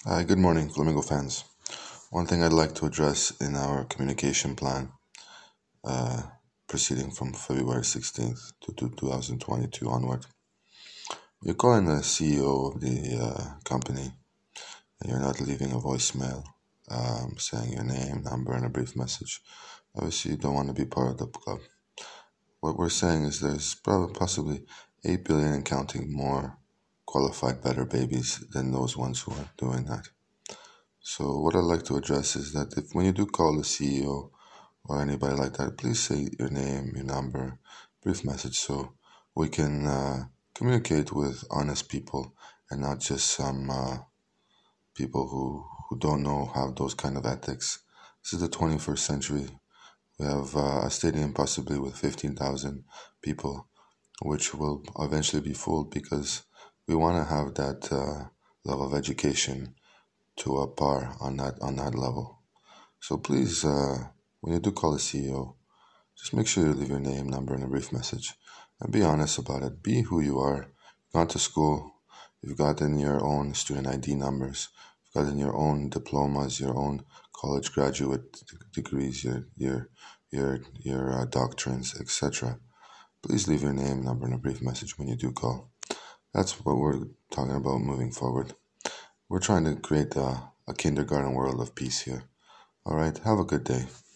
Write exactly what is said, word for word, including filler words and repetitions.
Hi, good morning, Flamingo fans. One thing I'd like to address in our communication plan, uh, proceeding from February sixteenth to two thousand twenty-two onward. You're calling the C E O of the uh, company and you're not leaving a voicemail um, saying your name, number, and a brief message. Obviously, you don't want to be part of the club. What we're saying is there's probably possibly eight billion and counting more qualified better babies than those ones who are doing that. So what I'd like to address is that if when you do call the C E O or anybody like that, please say your name, your number, brief message so we can uh, communicate with honest people and not just some uh, people who, who don't know have those kind of ethics. This is the twenty-first century. We have uh, a stadium possibly with fifteen thousand people, which will eventually be full because we want to have that uh, level of education to a par on that on that level. So please, uh, when you do call the C E O, just make sure you leave your name, number, and a brief message, and be honest about it. Be who you are. You've gone to school. You've gotten your own student I D numbers. You've gotten your own diplomas, your own college graduate degrees, your your your your uh, doctrines, et cetera. Please leave your name, number, and a brief message when you do call. That's what we're talking about moving forward. We're trying to create a, a kindergarten world of peace here. All right, have a good day.